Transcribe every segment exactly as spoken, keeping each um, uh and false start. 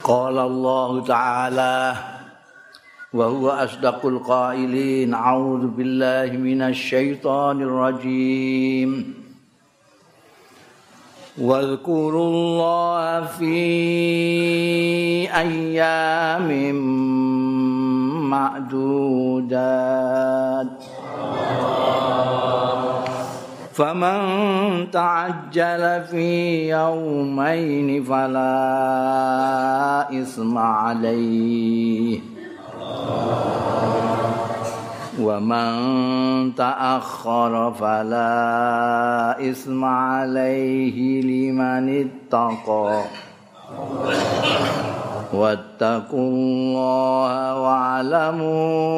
Qala Allah Ta'ala wa huwa asdaqul qailin a'udzu billahi minasy syaithanir rajim wadhkurullaha fi ayyamin ma'dudat faman ta'ajjala fi yawmaini fala isma alaihi wa man ta'akhkhara fala isma alaihi liman ittaqa wattaqullaha wa'lamu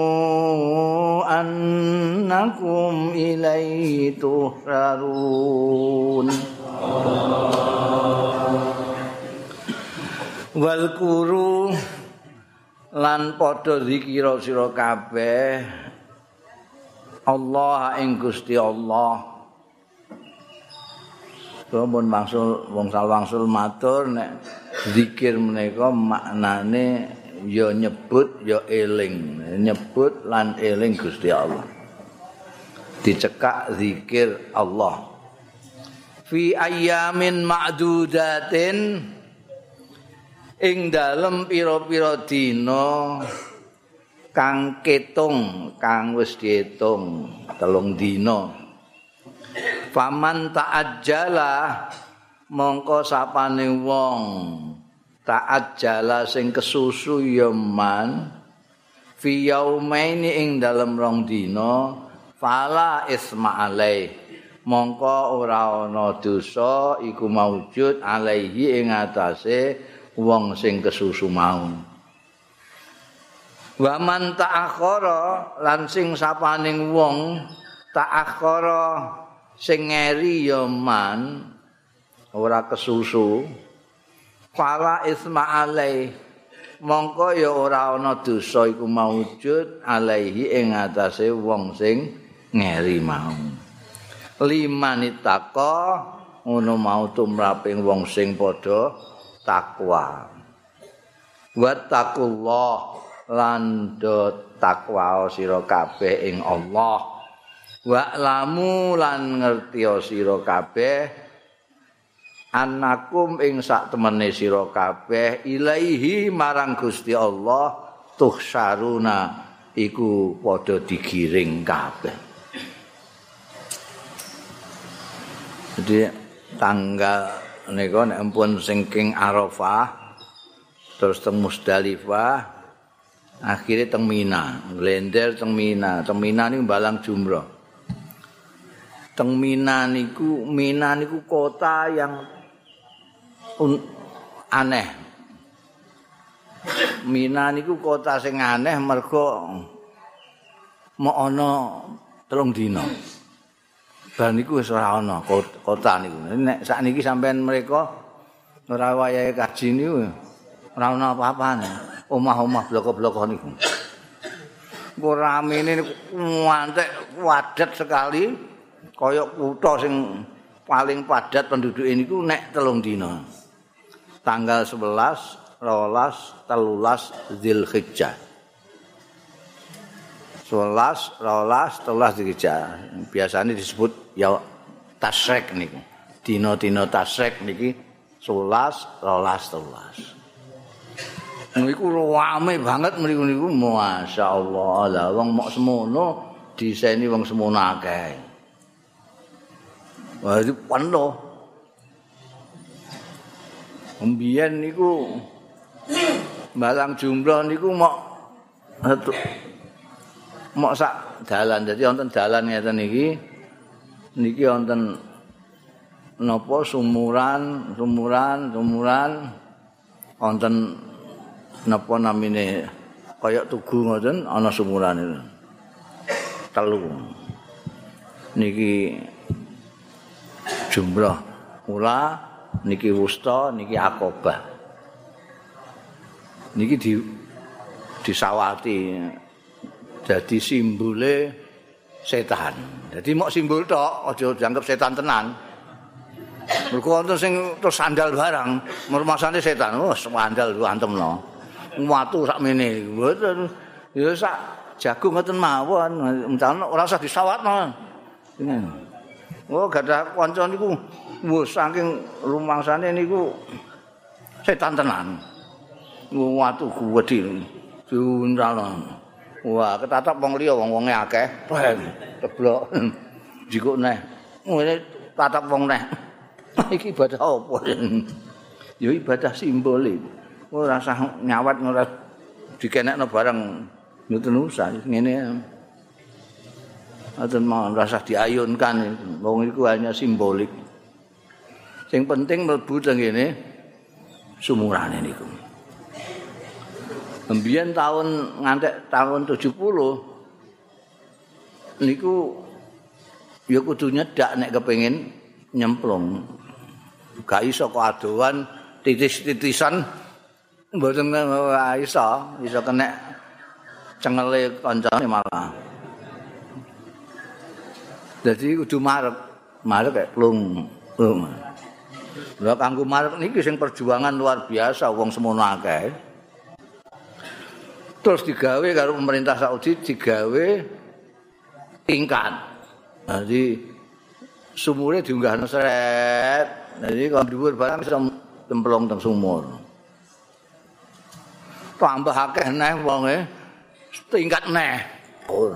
annakum ilaihi tuhsharun. Walkuru lan padha zikira sira kabeh Allah ing Gusti Allah. Sampun wangsul wong salwangsul matur nek zikir menika maknane ya nyebut ya eling, nyebut lan eling Gusti Allah. Dicekak zikir Allah. Fi ayyamin ma'dudatin ing dalem pira-pira dina kang ketung, kang wis diitung telung dina. Faman ta'ajjala mongko sapane wong ta'ajjala sing kesusu ya man fi yaumaini ing dalem rong dina fala isma alai mongko ora ana dosa iku maujud alaihi ing atase wong sing kesusu mau. Wa man ta'akhkhara lan sing sapaning wong ta'akhkhara sing ngeri ya man ora kesusu fala isma alai mongko ya ora ana dosa iku maujud alaihi ing atase wong sing ngeri mau. Limanitaka ngono mau tumraping wong sing padha takwa. Wattaqullah lan do takwa sira kabeh ing Allah. Wa'lamu lan ngertia sira kabeh annakum ing sak temene sira kabeh ilaihi marang Gusti Allah tuhsyaruna iku padha digiring kabeh. Jadi tanggal nika nek ampun singking Arafah terus teng Musdalifah akhire teng Mina, glender teng Mina. Teng Mina niku balang jumrah. Teng Mina niku Mina niku kota yang un, aneh. Mina niku kota sing aneh mergo mau ana telung dina. Bar niku wis ora ana kota niku. Nek sakniki sampean mereka ora wayahe kaji niku ora ana apa-apane. Omah-omah bloko-bloko niku. Engko ramene niku ngantek padat sekali. Kaya kutha sing paling padat penduduke niku nek telung dina. Tanggal sebelas, rolas, telulas Dzulhijjah. sebelas, rolas, telulas Dzulhijjah. Biasanya disebut ya tasyrik niku. Dina-dina tasyrik niki sebelas, rolas, telulas. Niku rame banget mriku niku masyaallah. Lah wong mok semono diseni wong semono akeh. Wah, itu penuh. Mbiyen niku balang jumroh niku mok mok sak dalan. Dadi wonten dalan ngeten niki. Niki wonten napa sumuran, sumuran, sumuran wonten napa namine kaya tugu ngoten ana sumuran itu. Telu. Niki jumrah ula niki wusta niki akobah niki di disawati jadi simbole setan. Jadi mok simbol tok aja dianggap setan tenan. Mergo wonten sing terus sandal barang, mermasane setan. Oh, sandal ku antemno. Watu sakmene. Mboten. Ya sak jagung ngoten mawon. Mencana ora usah disawatno. Oh, gadah kanca niku wah saking rumangsane niku setan tenan. Watu gedhe diuntal. Wah, ketatap wong liya wong-wonge akeh. Ceblok. Jikuk neh. Ngene tatap wong neh. Iki ibadah apa? Ya ibadah simbolik. Ora usah nyawat ora dikenekno barang mboten usah ngene. Aten mawon rasa diayunkan wong iku hanya simbolik. Sing penting mlebu teng ngene sumurane niku. Mbiyen tahun ngantek tahun tujuh puluh niku ya kudu nyedak nek kepengin nyemplung. Gak iso kok adohan titis-titisan mboten iso, iso kena cengele kancane malah. Jadi kudu marep, marep kayak plung. Lha kanggo marep niki sing perjuangan luar biasa wong semono akeh. Terus digawe karo pemerintah Saudi digawe tingkat. Jadi sumure diunggahno seret. Jadi kalau dhuwur barang iso templung teng sumur. Tambah akeh neh wonge tingkat neh. Oh.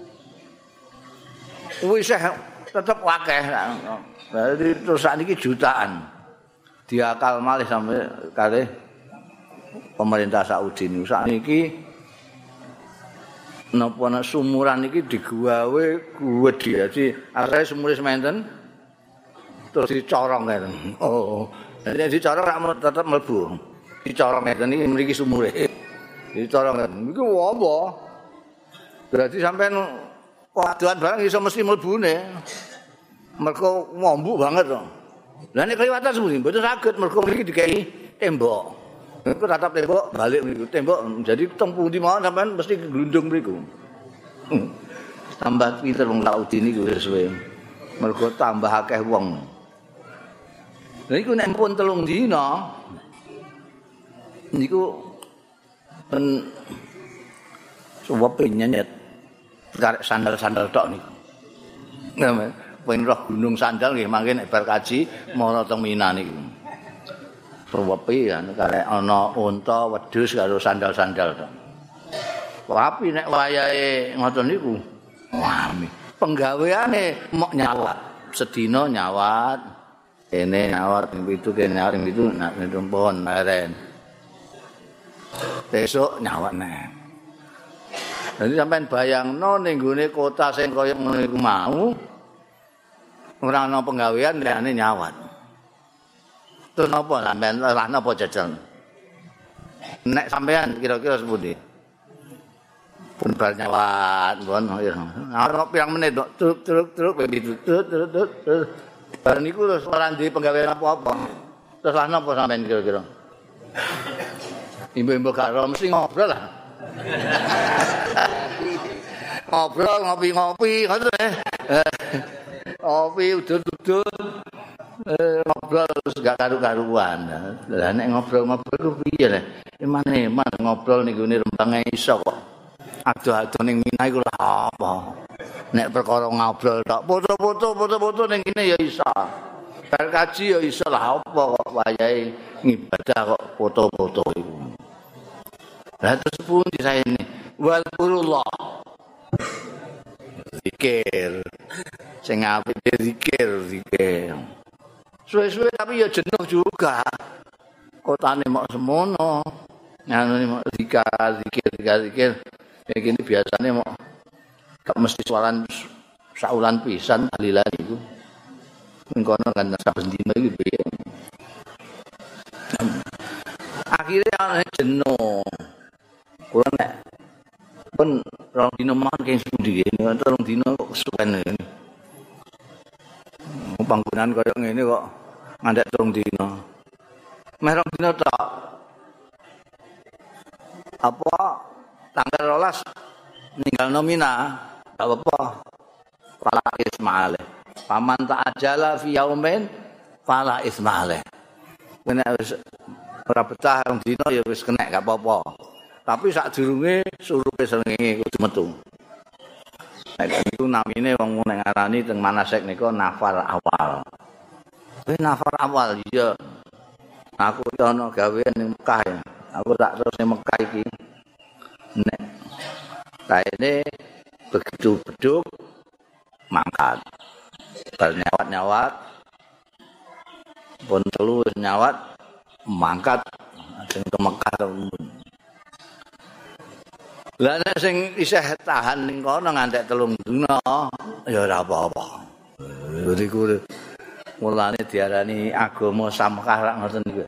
Wis tetep akeh. Jadi terus sakniki jutaan. Diakal malih sampai kalih pemerintah Saudi niku sakniki napa sumuran iki digawe gedhe. Jadi asale sumure sementen terus dicorong ngeten. Oh. Jadi dicorong rak tetep mlebu. Dicorong ngeten iki mriki sumure. Dicorong ngeten. Iku apa? Berarti sampean kadoan barang iso mesti mlebune. Mergo ngombu banget to. Lah nek kliwatan semudi mboten saged mergo mriki dikai tembok. Iku tatap tembok balik mriku tembok jadi teng pundi mawon sampean mesti glundung mriku. Tambah pinter wong Saudi niku suwe. Mergo tambah akeh wong. Lha iku nek pun telung dina niku ben suwepe nyenyet karek sandal-sandal tok niku. Nggih, pengen roh gunung sandal nggih mangke nek bar kaji mara teng Mina niku. Suwepe ya karek ana unta, wedhus karo sandal-sandal tok. Tapi nek wayahe ngoten niku, wah penggaweane mok nyawat. Sedina nyawat, kene nyawat ping pitu kene nyawat ping pitu nek pohon leren. Besok nyawat neh. Jadi sampean bayangno ning gone kota sing kaya ngono iku mau ora ana penggawean liyane nyawat. Terus napa sampean lah napa jajal? Nek sampean kira-kira sepundi? Pun bar nyawat, pun ana pirang menit tok truk-truk begitu truk-truk. Bar niku terus ora ndek penggawean apa-apa. Terus lah napa sampean kira-kira? Imbu-imbu gak ro mesti ngobrol lah. Ngobrol ngopi-ngopi ngoten eh. Ngopi udut-udut. Eh ngobrol terus gak karu-karuan. Lah nek ngobrol-ngobrol ku piye le? Eman-eman ngobrol ning gone Rembang iso kok. Adoh-adoh ning Mina iku lha apa? Nek perkara ngobrol tok foto-foto foto-foto ning kene ya iso. Bar kaji ya iso lah apa kok wayahe ngibadah kok foto-foto iku. Lah terus pundi saene? Walqurullah. Zikir. Sing apik zikir, zikir. Suwe-suwe tapi ya jenuh juga. Kotane mok semono. Nganune mok zikir, zikir, zikir. Ya gini biasane mok gak mesti sualan saulan pisan tahlilan iku. Ning kono kan saben dina iki piye. Akhire ana jenuh. Kula nek pun rong dina mawon keng pundi nggih, rong dina kok kesuwen ngene. Panggonan kaya ngene kok ngandhek rong dina. Meh rong dina tok. Apa tanggal rolas ninggalno Mina, gak apa-apa. Fala ismale. Paman ta'ajala fi yaumin fala ismaale. Nek wis ora betah rong dina ya wis kena gak apa-apa. Tapi sadurunge surupe srengenge kudu metu. Nek niku namine wong nek ngarani teng manasek nika nafar awal. Kuwi nafar awal iya. Aku iki ana gawean ning Mekah ya. Aku tak terus ning Mekah iki. Nek kaene begitu beduk mangkat. Bar nyawat-nyawat pun telu nyawat mangkat sing ke Mekah. Lah nek sing isih tahan ning kono ngantek telung dina ya ora apa-apa. Iku mulane diarani agama samkah rak ngoten niku.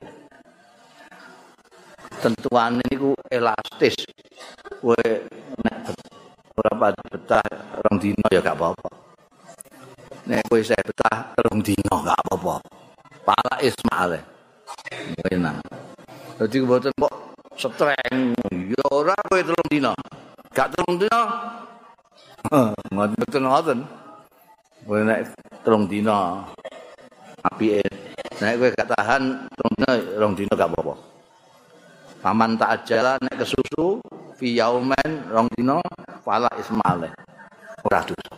Tentuane niku elastis. Kowe nek ora betah rong dina ya gak apa-apa. Nek kowe isih betah telung dina gak apa-apa. Pala ismaale. Enak. Dadi mboten kok streng ya ora kowe telung dina. Gak telung dina. Heh, mboten ngoten. Kowe nek telung dina apike. Nek kowe gak tahan telung dina, rong dina gak apa-apa. Paman tak ajala nek kesusu fi yaumen rong dina fala ismaale. Ora dosa.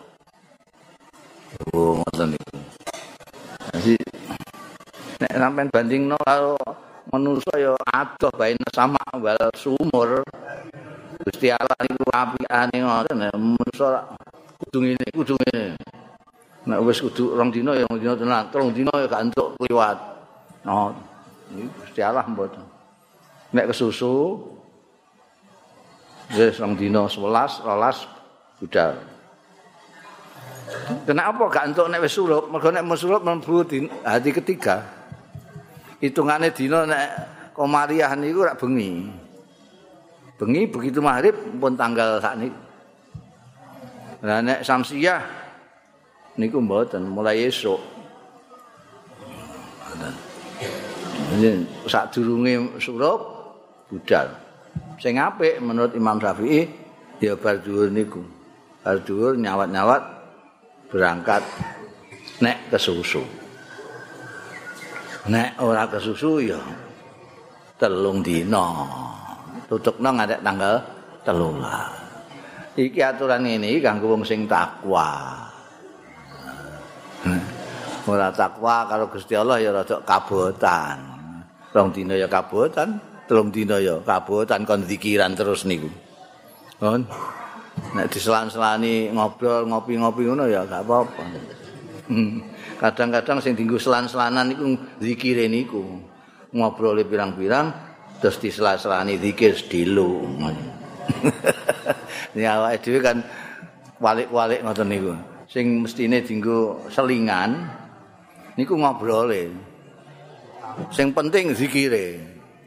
Oh, ngoten niku. Jadi nek sampean bandingno karo manusa ya adoh baine sama wal sumur. Gusti Allah niku apikane ngoten manusa kudu ngene kudu ngene. Nek wis kudu rong dina ya rong dina tenan, telung dina ya gak entuk kliwat. Nah, iki Gusti Allah mboten. Nek kesusu wis rong dina sewelas, rolas budal. Kenapa gak entuk nek wis surup? Mergo nek surup mlebu hati ketiga. Hitungane dina nek komariah niku rak bengi. Bengi begitu maghrib pun tanggal sakniki. Lah nek samsiah niku mboten mulai esuk. Ngoten. Sadurunge surup budal. Sing apik menurut Imam Syafi'i ya bar dhuwur niku. Bar dhuwur nyawat-nyawat berangkat nek kesusu. Nek ora kesusu ya telung dina. Tutupno ngantek tanggal telulas. Iki aturan ini kanggo wong sing takwa. Ora takwa karo Gusti Allah ya rada kabotan. Rong dina ya kabotan, telung dina ya kabotan kon zikiran terus niku. Kon nek diselan-selani ngobrol ngopi-ngopi ngono ya gak apa-apa. Kadang-kadang sing dienggo selan-selanan niku zikire niku. Ngobrole pirang-pirang terus diselan-selani zikir sedilo. Ya awake dhewe kan walik-walik ngoten niku. Sing mestine dienggo selingan niku ngobrole. Sing penting zikire.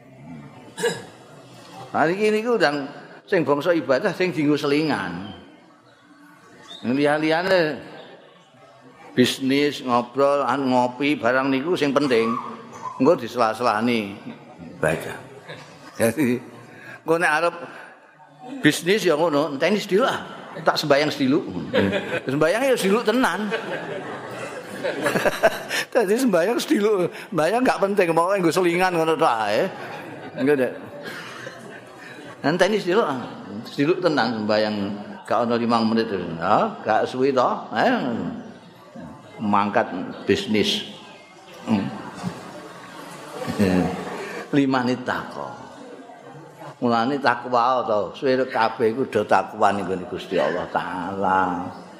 Hari ini niku ndang sing bangsa ibadah sing dienggo selingan. Liya-liyane bisnis, ngobrol, ngopi, barang niku sing penting. Engko disela-selani ibadah. Jadi engko nek arep bisnis ya ngono, enteni sediluk ah. Tak sembayang sediluk. Sembayang ya sediluk tenan. Dadi sembayang sediluk, sembayang enggak penting, pokoke nggo selingan ngono tok ae. Engko nek enteni sediluk, sediluk tenan sembayang gak ono lima menit. Ha, gak suwi to. Eh. Mangkat bisnis. Hmm. Lima nit takwa. Mulane takwa to, suwe kabeh iku do takwa ning Gusti Allah taala.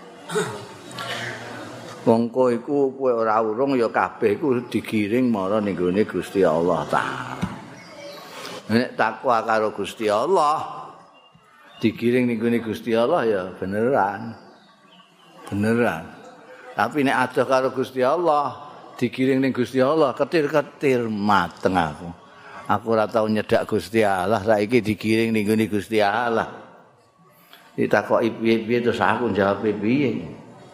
Mongko iku kowe ora urung ya kabeh iku digiring marang ning gone Gusti Allah taala. Nek takwa karo Gusti Allah digiring ning gone Gusti Allah ya beneran. Beneran. Tapi nek adoh karo Gusti Allah, digiring ning Gusti Allah, ketir-ketir mateng aku. Aku ora tau nyedak Gusti Allah, saiki digiring ning gone Gusti Allah. Ditakoki piye-piye terus aku jawab piye.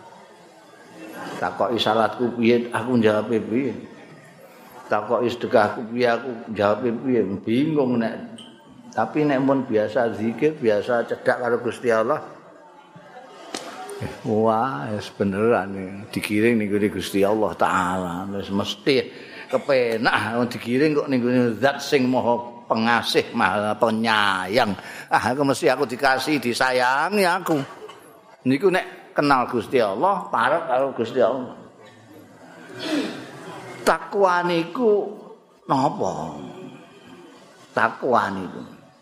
Takoki salatku piye, aku jawab piye. Takoki sedekahku piye, aku jawab piye. Bingung nek. Tapi nek mun biasa zikir, biasa cedak karo Gusti Allah, Wah, wis beneran digiring ning Gusti Allah taala. Wis mesti kepenak digiring kok ning zat sing maha pengasih, maha penyayang. Ah, aku mesti aku dikasih, disayangi aku. Niku nek kenal Gusti Allah, parek karo Gusti Allah. Takwa niku napa? Takwa niku.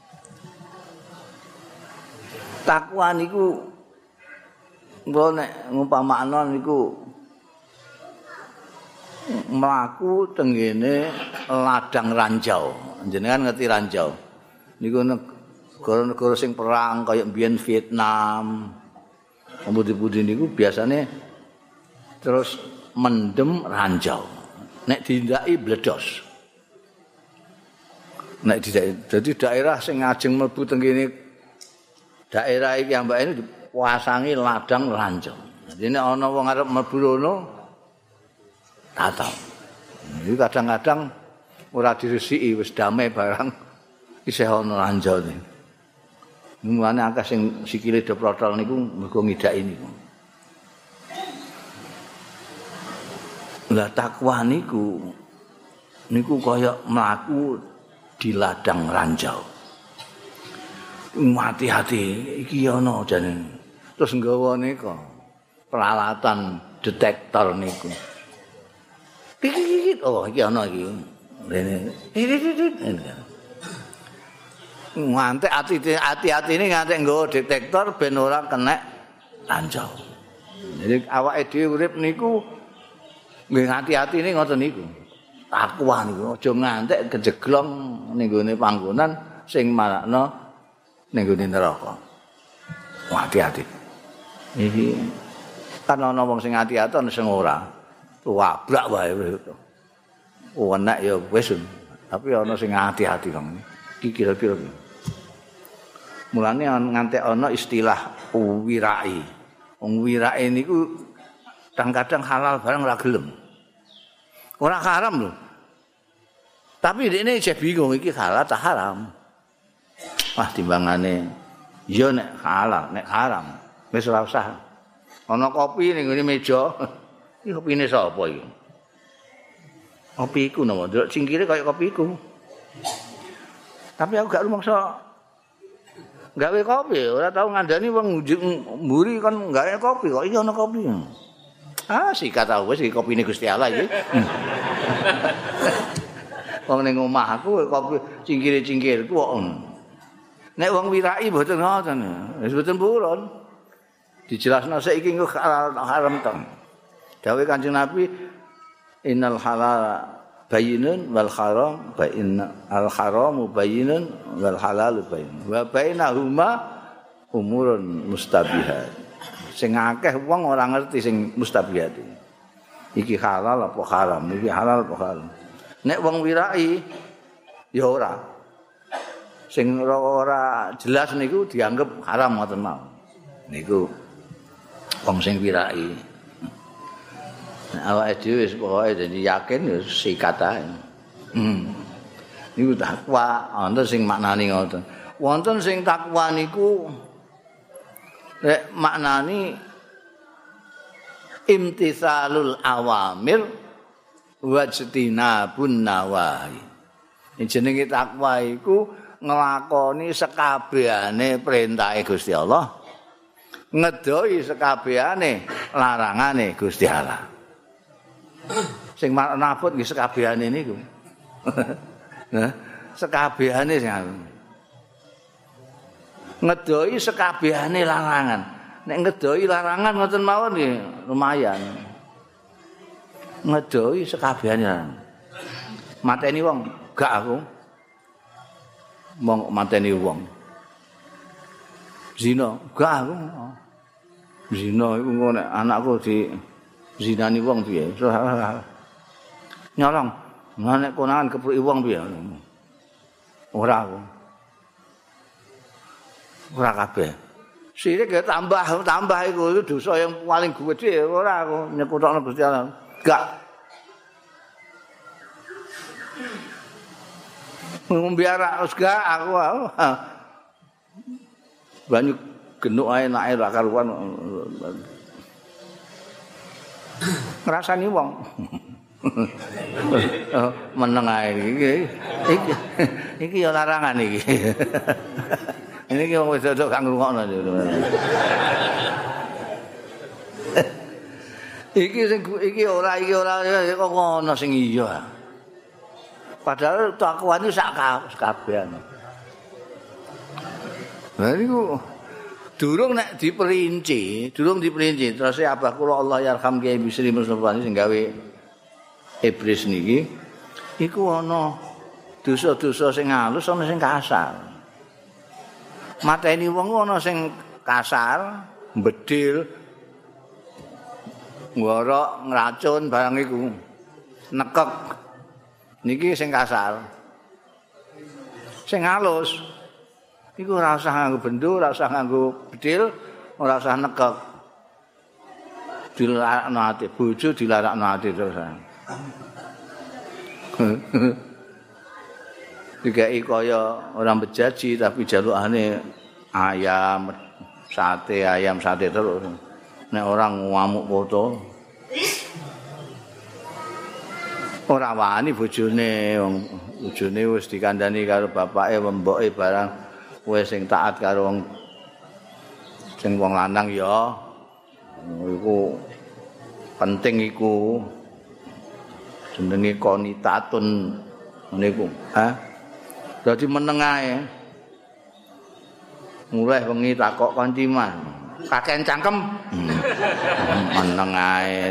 Takwa niku Mbok nek ngumpamakno niku mlaku tenggene ladang ranjau. Jenengan ngerti ranjau. Niku negara-negara sing perang kaya mbiyen Vietnam. Pemudi-pemudi niku biasane terus mendem ranjau. Nek dindaki bledos. Nek dindaki dadi daerah sing ajeng mlebu tenggene daerah iki ambake wasangi ladang ranjau. Jadi nek ana wong arep mlebu rono tatau. Iki kadang-kadang ora diresiki wis damai barang isih ana ranjau niku. Mulane akeh sing sikile do protol niku mergo ngidaki niku. Lah takwa niku niku kaya mlaku di ladang ranjau. Hati-hati iki ana jane. Terus nggawa nika peralatan detektor niku. Kikik oh iki ana iki. Rene. Ngantek ati-ati ini ngantek nggawa detektor ben ora kena ranjau. Jadi awake dhewe urip niku nggih hati-ati ini ngoten niku. Takwa niku aja ngantek kejeglong ning gone panggonan sing marakno ning gone neraka. Hati-hati. Iki kan ana wong sing ati-ati ana sing ora. Wabrak wae wis. Oh enak ya wis. Tapi ana sing ati-ati kang. Iki kira-kira. Mulane ngantek ana istilah wirai. Wong wirai niku kadang-kadang halal barang ora gelem. Ora haram lho. Tapi dekne isih bingung iki halal ta haram. Wah timbangane ya nek halal, nek haram wis ora usah. Ana kopi ning ngene meja. Iki kopine sapa iki? Kopi iku napa? Ndelok cingkire kaya kopi iku. Tapi aku gak rumangsa gawe kopi, ora tau ngandani wong mburi kon gawe kopi kok iki ana kopi. Ah sikat aku wis iki kopine Gusti Allah iki. Wong ning omahku kopi cingkire-cingkirku kok. Nek wong wirai mboten ngoten. Wis mboten purun. Dijelasno saiki engko halal haram to. Dawuh Kanjeng Nabi innal halal bayyinun wal haram bayyinun al haramu bayyinun wal halalu bayyinun wa bainahuma umurun mustabihat. Sing akeh wong ora ngerti sing mustabihat. Iki halal apa haram, iki halal apa haram. Nek wong wirai ya ora. Sing ora jelas niku dianggap haram ngoten mau. Niku wong sing wirai. Nek awake dhewe wis pokoke dadi yakin ya sikat ae. Hmm. Niku takwa, wonten sing maknani ngoten. Wonten sing takwa niku nek maknani imtitsalul awamir wajtinabun nawahi. Jenenge takwa iku nglakoni sekabehane perintahe Gusti Allah, ngedoi sekabehane larangane Gusti Allah. Sing nabut nggih sekabehane niku. Nah, sekabehane sing ngedoi sekabehane larangan. Nek ngedoi larangan ngoten mawon nggih lumayan. Ngedoi sekabehane. Mateni wong, gak aku. Mong mateni wong. Zina, gak aku. Zina iku ngono anakku di zinani wong piye? Nyolong. Nek konangan kepruki wong piye? Ora aku. Ora kabeh. Sirik ya tambah tambah iku dosa yang paling gede ora aku nyekutokno Gusti Allah. Gak. Ngombe arak wis gak aku. Banyu genuk ae enake ra karuan. Ngrasani wong. Meneng ae iki. Iki iki ya larangan iki. Ini ki wong wedok gak ngrungokno. Iki sing iki ora iki ora kok ngono sing iya. Padahal takwa itu sak kabehan. Lah niku durung nek diperinci, durung diperinci terus abah kula Allah yarham Kiai Bisri Mustofa sing gawe iblis niki iku ana dosa-dosa sing halus ana sing kasar. Mateni wong ana sing kasar, bedil, ngorok, ngracun barang iku. Nekek. Niki sing kasar. Sing halus iku ora usah nganggo bendo, ora usah nganggo bedil, ora usah nekek. Dilarakno ati bojo dilarakno ati terus. Dikai kaya orang bejaji tapi jalukane ayam, sate, ayam sate terus. Nek orang ngamuk foto. Ora wani bojone, wong bojone wis dikandani karo bapake, mboke barang wis sing taat karo wong sing wong lanang ya. Iku penting iku. Jenenge konitatun niku, ha? Dadi meneng ae. Mulai wengi takok kanthi Mas. Kakean cangkem. Hmm. Meneng ae.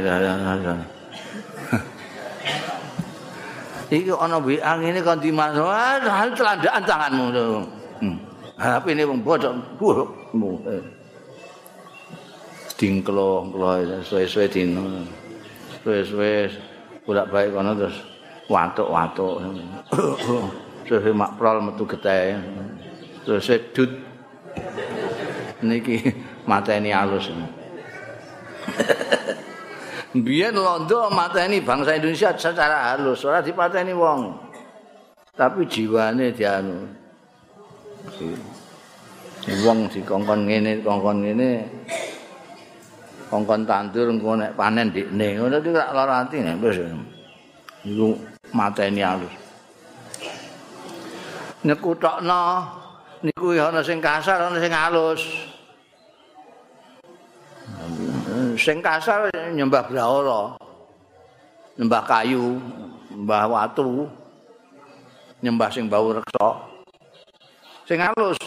Iki ana W A ngene kanthi Mas. Wah, telandakan tanganmu. Hmm. H P ne wong bodho. Dingklo-klo suwe-suwe dino. Suwe-suwe bolak-balik kono terus watuk-watuk. Terus makprol metu getih. Terus sedut. Niki mateni alus. Biyen londo mateni bangsa Indonesia secara halus, ora dipateni wong. Tapi jiwane dianu. Wong dikongkon ngene, kongkon ngene. Kongkon tandur engko nek panen ndikne. Ngono iki ora lara ati nek wis. Iku mateni alus. Nek kutokno niku ya ana sing kasar, ana sing halus. Sing kasar nyembah brahala. Nyembah kayu, nyembah watu. Nyembah sing bau reksa. Sing halus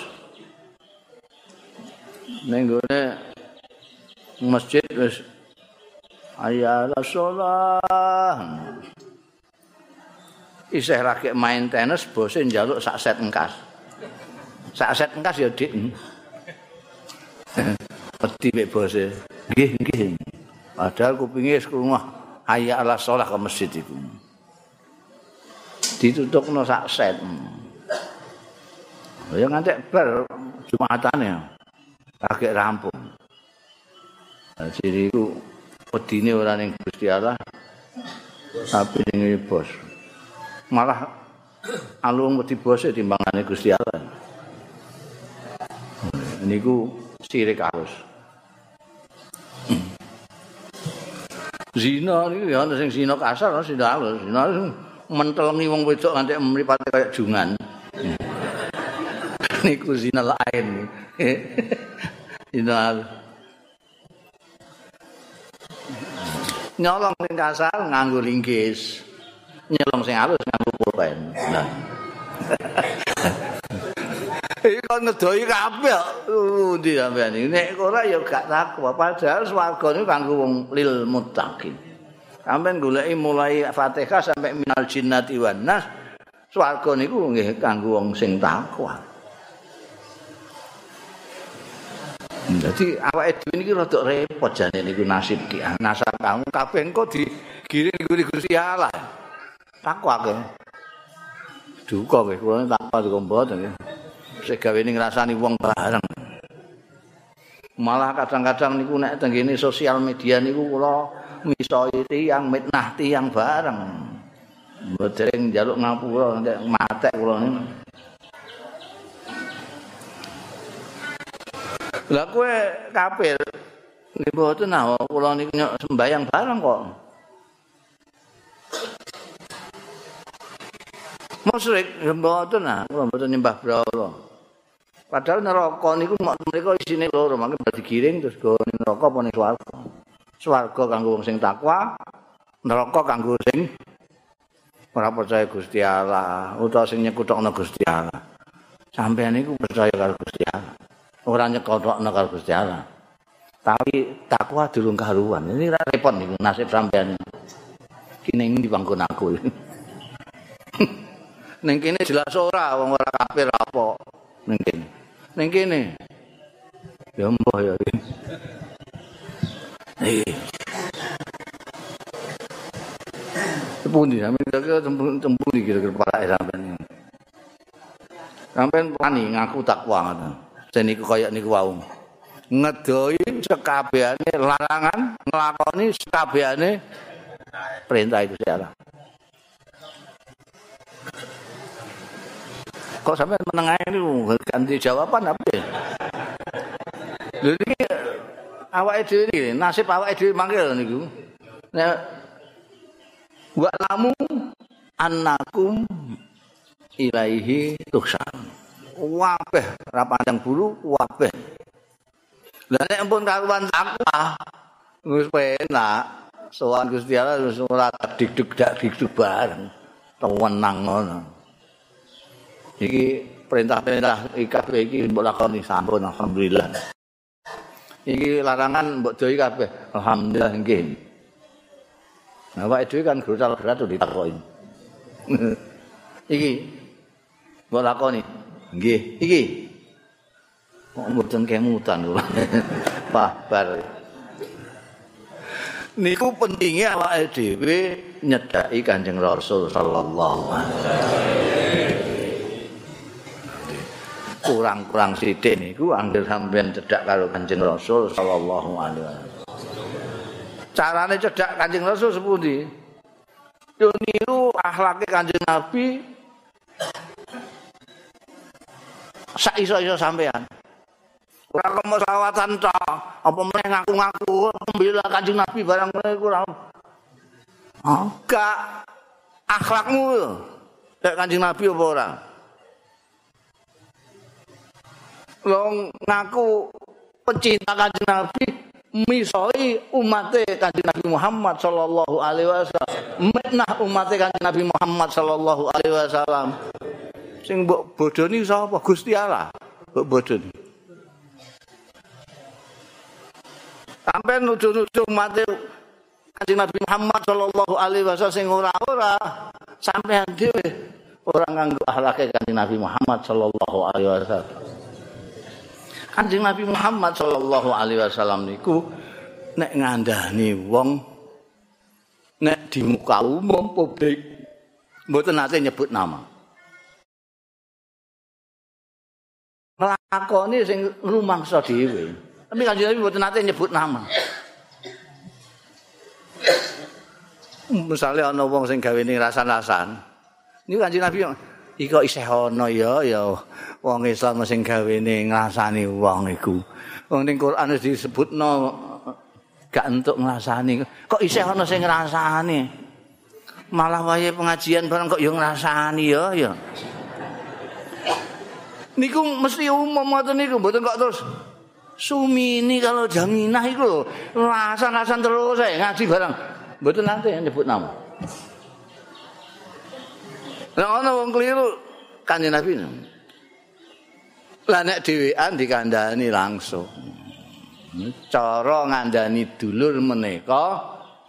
ning gone masjid wis ayala sholat. Isih rakek main tenis bose njaluk sak set engkas. Sak set engkas ya Dik. Wedi mek bose. Nggih, nggih. Padahal kupinge wis krungu ayala sholat ke masjid iku. Ditutupno sak set. Ya ngantek bar Jumatane. Agak rampung. Jadi itu pedine ora ning Gusti Allah tapi ning bos. Malah alung wedi bose timbangane Gusti Allah. Niku sirik halus. Zina niku ya ana sing zina kasar, ana sing halus. Zina mentelengi wong wedok nganti mripate kaya jungan. Niku zina lain. Zina nyolong sing kasar nganggo linggis. Nyolong sing halus nganggo pulpen. Nah. Iki kon ngedoi kabeh. Endi sampean iki? Nek ora ya gak takwa. Padahal swarga niku kanggo wong lil muttaqin. Sampeyan goleki mulai Fatihah sampai minal jinnati wan nas. Swarga niku nggih kanggo wong sing takwa. Jadi awake dhewe niki rada repot jane niku nasib ki. Nasab kamu kabeh engko digiring nguri Gusti Allah. Takwa ke. Duka kowe, kula takwa kok mboten. Sik gawene ngrasani wong bareng. Malah kadang-kadang niku nek tenggene sosial media niku kula misoi tiyang mitnah tiyang bareng. Mboten njaluk ngapura nek matek kula niku. Lah kowe kafir. Nggih mboten nah kula niku sembayang bareng kok. Musyrik mboten nah, kula mboten nyembah brahala. Padahal neraka niku mereka isine loro, mangke bar digiring terus go ning neraka apa ning swarga. Swarga kanggo wong sing takwa, neraka kanggo sing ora percaya Gusti Allah utawa sing nyekutokno Gusti Allah. Sampeyan niku percaya karo Gusti Allah. Ora nyekutokno karo Gusti Allah. Tapi takwa durung karuan. Ini repot niku nasib sampeyan. Kene ndi panggon aku. Ning kene jelas ora wong ora kafir apa. Ning kene. Ning kene. Ya mbah ya. Eh. Pundi sampeyan kira-kira tempundi kira-kira parake sampeyan. Sampeyan wani ngaku takwa ngoten. Jen niku kaya niku wau. Ngedoi sekabehane larangan, nglakoni sekabehane perintah itu Allah. Kok sampeyan meneng ae niku ganti jawaban apa ya? Lha iki awake dhewe iki nasib awake dhewe mangke niku. Nek wa lamu annakum ilaihi tuhsan. Wabeh ra pandang bulu wabeh. Lah nek ampun karuan takwa wis penak. Sowan Gusti Allah wis ora digdug dak digdug bareng. Tenang ngono. Iki perintah-perintah iki kabeh iki mbok lakoni sampun alhamdulillah. Iki larangan mbok doi kabeh. Alhamdulillah nggih. Nah, awake dhewe kan grutal-grutal ditakoki. Iki mbok lakoni. Nggih, iki. Kok mboten kemutan kula. Pak bar. Niku pentinge awake dhewe nyedhaki Kanjeng Rasul sallallahu alaihi wasallam. Kurang-kurang sithik niku anggere sampeyan cedhak karo Kanjeng Rasul sallallahu alaihi wasallam. Carane cedhak Kanjeng Rasul sepundi? Yo niru akhlake Kanjeng Nabi sak-iso-iso sampean. Ora kok selawatan tok, apa meneh ngaku-ngaku membela Kanjeng Nabi barang ngene iku ora. Oh, gak akhlakmu yo. Kayak Kanjeng Nabi apa ora? Wong ngaku pecinta Kanjeng Nabi misoi umate Kanjeng Nabi Muhammad sallallahu alaihi wasallam. Metnah umate Kanjeng Nabi Muhammad sallallahu alaihi wasallam. Sing mbok bodoni sapa? Gusti Allah. Mbok bodoni. Sampai nuju-nuju mati Kanjeng Nabi Muhammad sallallahu alaihi wasallam sing ora-ora sampean dhewe ora nganggo akhlake Kanjeng Nabi Muhammad sallallahu alaihi wasallam. Kanjeng Nabi Muhammad sallallahu alaihi wasallam niku nek ngandani wong nek di muka umum publik mboten nate nyebut nama. Nglakoni sing rumangsa dhewe. Tapi Kanjeng Nabi mboten nate nyebut nama. Misalnya ana wong sing gawene rasan-rasan. Niku Kanjeng Nabi iki kok isih ana ya ya wong Islam sing gawene ngrasani wong iku. Wong ning Quran wis disebutno gak entuk ngrasani. Kok isih ana sing ngrasani? Malah wayahe pengajian bareng kok ya ngrasani ya ya. Niku mesti umum ngoten niku mboten kok terus Sumini kalau Jaminah iku lho rasan-rasan terus saya ngaji bareng. Mboten nate nyebut nama. Lah ana wong keliru Kanjeng Nabi. Lah nek dhewean dikandhani langsung. Cara ngandani dulur menika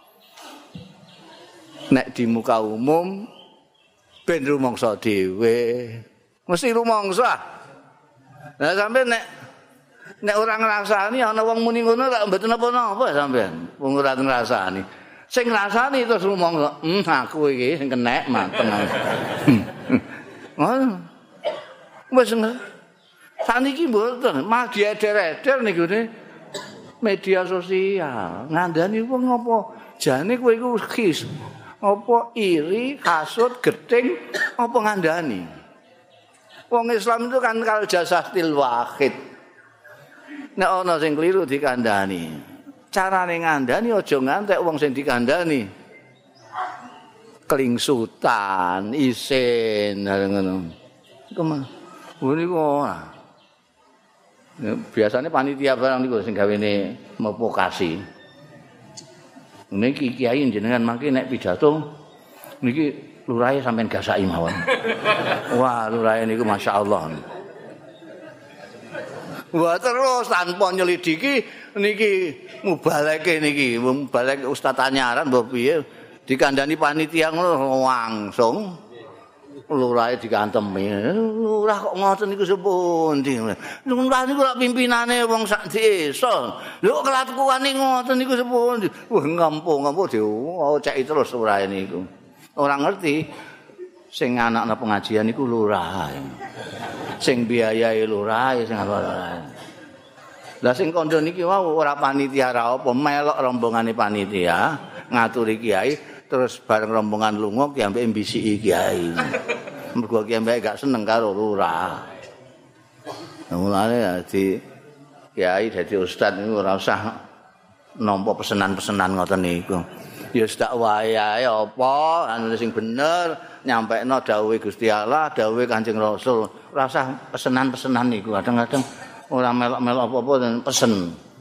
nek di muka umum ben rumangsa dhewe. Mesti rumangsa. Lah sampe nek nek ora ngrasani ana wong muni ngono lak mboten apa-apa sampean. Wong ora ngrasani. Sing ngrasani terus rumangsa, "Hmm, aku iki sing kenek mateng." Ngono. Wis saniki mboten, malah dieder-eder niku media sosial. Ngandani wong apa? Jane kowe iku khis. Apa iri, hasud, gething, apa ngandani? Wong Islam itu kan kalau jasatil wahid. nek ana sing kliru dikandhani. Carane ngandhani aja ngantek wong sing dikandhani. Kelingsutan, isin, ngono. Iku mah. Niku ora. Biasanya panitia barang niku sing gawene memprovokasi. Niki kiai jenengan mangke nek pidato niki lurahe sampean gasaki mawon. Wah, lurahe niku masyaallah. Wah, terus tanpa nyelidiki niki mubaleke niki, mubalek ustaz anyaran mbok piye dikandani panitia ngono langsung lurahe digantemi. Lurah kok ngoten niku sepundi. Lurah niku lak pimpinane wong sak desa. Lho kelakuane ngoten niku sepundi. Wah ngampu-ngampu dioceki terus lurahe niku. Ora ngerti sing anakna pengajian niku lurah. Sing biayai lurah sing lurah. Lah sing kandha niki wau ora panitia ra apa melok rombongane panitia ngaturi kiai terus bareng rombongan lunga ki ambek mbisiki kiai. Mergo ki ambek gak seneng karo lurah. Mulane dadi kiai dadi ustaz niku ora usah nampa pesenan-pesenan ngoten niku. Ya sedak wae ae apa anu sing bener nyampekno dawuhe Gusti Allah, dawuhe Kanjeng Rasul. Ora usah pesenan-pesenan niku. Kadang-kadang ora melok-melok apa-apa dan pesen.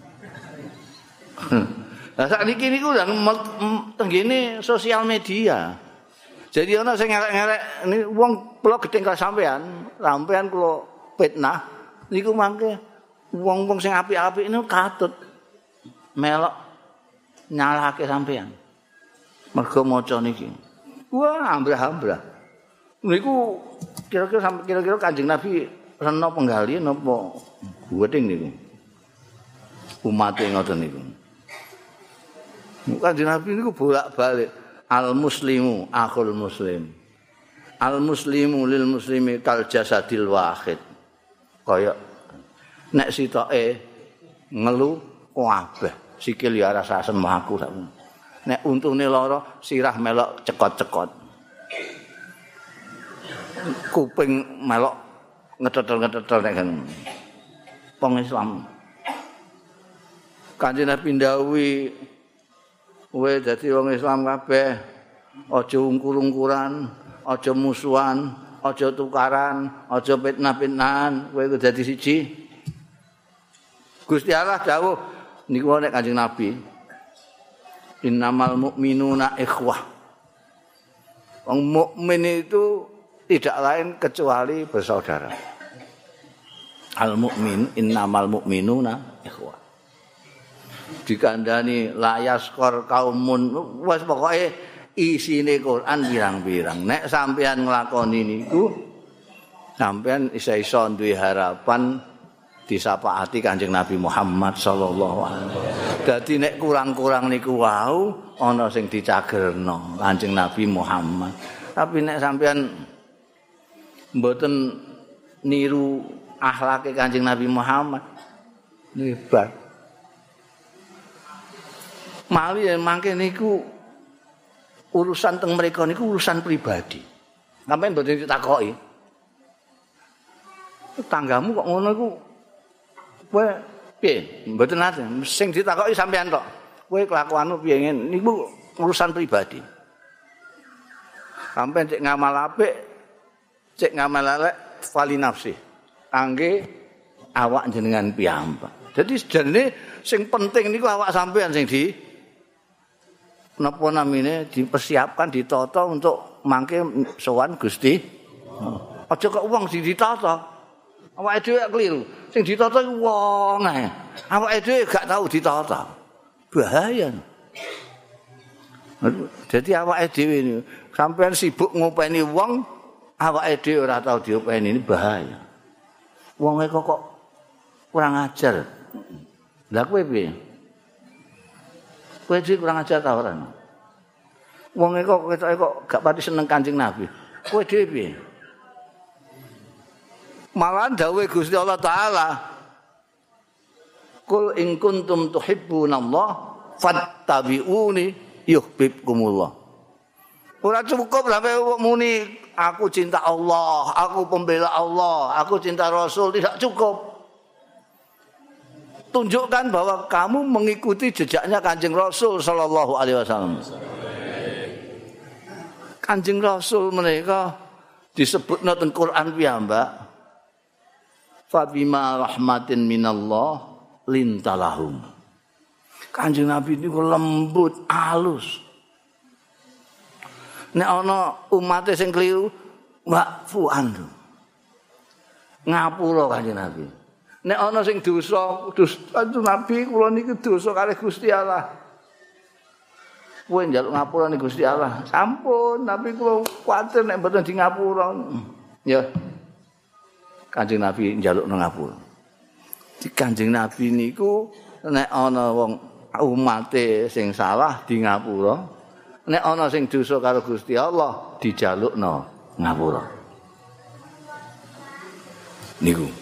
Lah sakniki niku udah tenggene sosial media. Jadi ana sing ngerek-ngerek ini wong kula gedeng ka sampean, sampean kula fitnah niku mangke wong-wong sing apik-apik niku katut melok nyalahke sampean. Mergo maca niki. Wah, ambrah-ambrah. Niku kira-kira sampai kira-kira Kanjeng Nabi rena penggalian apa guweting niku. Umate ngoten niku. Kanjeng Nabi niku bolak-balik al muslimu akhul muslim. Al muslimu lil muslimi kal jasadil wahid. Kaya nek sitoke ngelu kabeh, sikil ya rasa asem aku sak. Nek untune lara sirah melok cekot-cekot. Kuping melok ngetetel-ngetetel nek ngono. Wong Islam. Kanjeng Nabi ndhawuhi kowe dadi wong Islam kabeh aja ungkur-ungkuran, aja musuhan, aja tukaran, aja fitnah-fitnahan, kowe kudu dadi siji. Gusti Allah dawuh niku nek Kanjeng Nabi innamal mu'minuna ikhwah. Wong mukmin itu tidak lain kecuali bersaudara. Al mukmin innamal mu'minuna ikhwah. Dikandani layaskor kaumun wis pokoke isine Quran pirang-pirang. Nek sampean nglakoni niku sampean isa-isa duwe harapan disapaati Kanjeng Nabi Muhammad sallallahu alaihi wasallam. Dadi nek kurang-kurang niku wau ana sing dicagerno Kanjeng Nabi Muhammad. Tapi nek sampean mboten niru akhlake Kanjeng Nabi Muhammad hebat. Mali mangke niku urusan teng mereka niku urusan pribadi. Sampeyan mboten ditakoki. Tanggamu kok ngono iku kowe piye? Mboten nate. Sing ditakoki sampean tok. Kowe kelakuanmu piye ngene? Niku urusan pribadi. Sampeyan cek ngamal apik, cek ngamal elek fali nafsi. Kangge awak jenengan piyambak. Jadi sebenarnya sing penting niku awak sampean sing di napa namine dipersiapkan ditata untuk mangke sowan Gusti. Aja kok wong sing ditata. Awake dhewe keliru. Sing ditata iku wong ae. Awake dhewe gak tahu ditata. Bahaya. Jadi awake dhewe niku sampean sibuk ngopeni wong, awake dhewe ora tahu diopeni ini bahaya. Wong e kok kurang ajar. Lah kowe piye? Kowe iki kurang ajar ta ora? Wong e kok ketoke kok gak pati seneng Kanjeng Nabi. Kowe dhewe piye? Malah dawuh Gusti Allah taala Qul in kuntum tuhibbunallah fattabi'uni yuhibbukumullah. Ora cukup sampai muni aku cinta Allah, aku pembela Allah, aku cinta Rasul, tidak cukup. tunjukkan bahwa kamu mengikuti jejaknya Kanjeng Rasul sallallahu alaihi wasallam. Kanjeng Rasul mereka disebutna teng Quran piyambak. Fabima rahmatin minallah lintalahum. Kanjeng Nabi niku lembut, alus. Nek ana umate sing kliru, wa'fu anhu. Ngapura Kanjeng Nabi. Nek ana sing dosa, dosa Nabi kula niki dosa kalih Gusti Allah. Kowe njaluk ngapura ning Gusti Allah. Sampun, tapi kula kuwatir nek mboten di ngapura. Ya. Kanjeng Nabi njaluk nang ngapura. Di Kanjeng Nabi niku nek ana wong umate sing salah di ngapura. Nek ana sing dosa karo Gusti Allah dijalukno ngapura. Niku.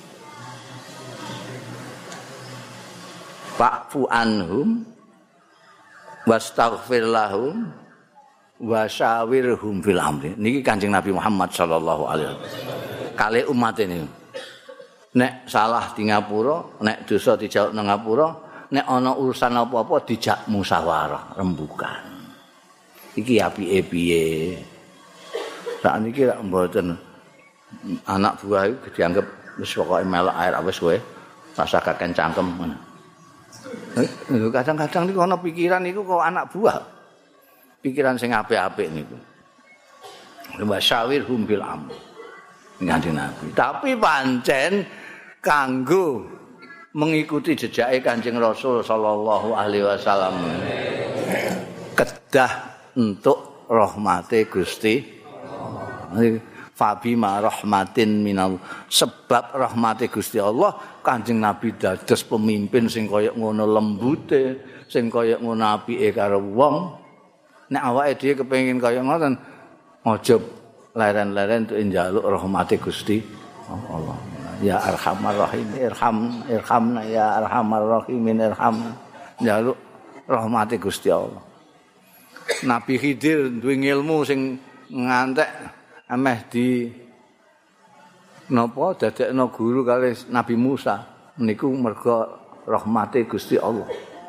Fa'fu anhum wastaghfir lahum wasyawirhum fil amri. Niki Kanjeng Nabi Muhammad sallallahu alaihi wasallam. Kali umat ini. Nek salah di ngapura, nek dosa dijawab nang ngapura, nek ana urusan apa-apa dijak musyawarah, rembukan. Iki apike piye? Sakniki lak mboten anak buah iku dianggap wis pokoke melok air wis kowe rasa kaken cangkem ngono. Kadang-kadang niku ana pikiran niku kok anak buah. Pikiran sing apik-apik niku. Wa syawirhum bil amr. Kanjeng Nabi. Tapi pancen kanggo mengikuti jejake Kanjeng Rasul sallallahu alaihi wasallam. Kedah untuk rahmate Gusti. Fabima rahmatin minal, sebab rahmati Gusti Allah Kanjeng Nabi dados pemimpin sing kaya ngono lembute, sing kaya ngono apike karo wong. Nek awake dhewe kepengin kaya ngoten aja leren-leren untuk njaluk rahmati Gusti Allah. Ya Arhamar Rahim, irham irhamna ya Arhamar Rahimin irham. Njaluk rahmati Gusti Allah. Nabi Khidir duwe ilmu sing ngantek ameh di napa dadekno guru kali Nabi Musa niku merga rahmate Gusti Allah.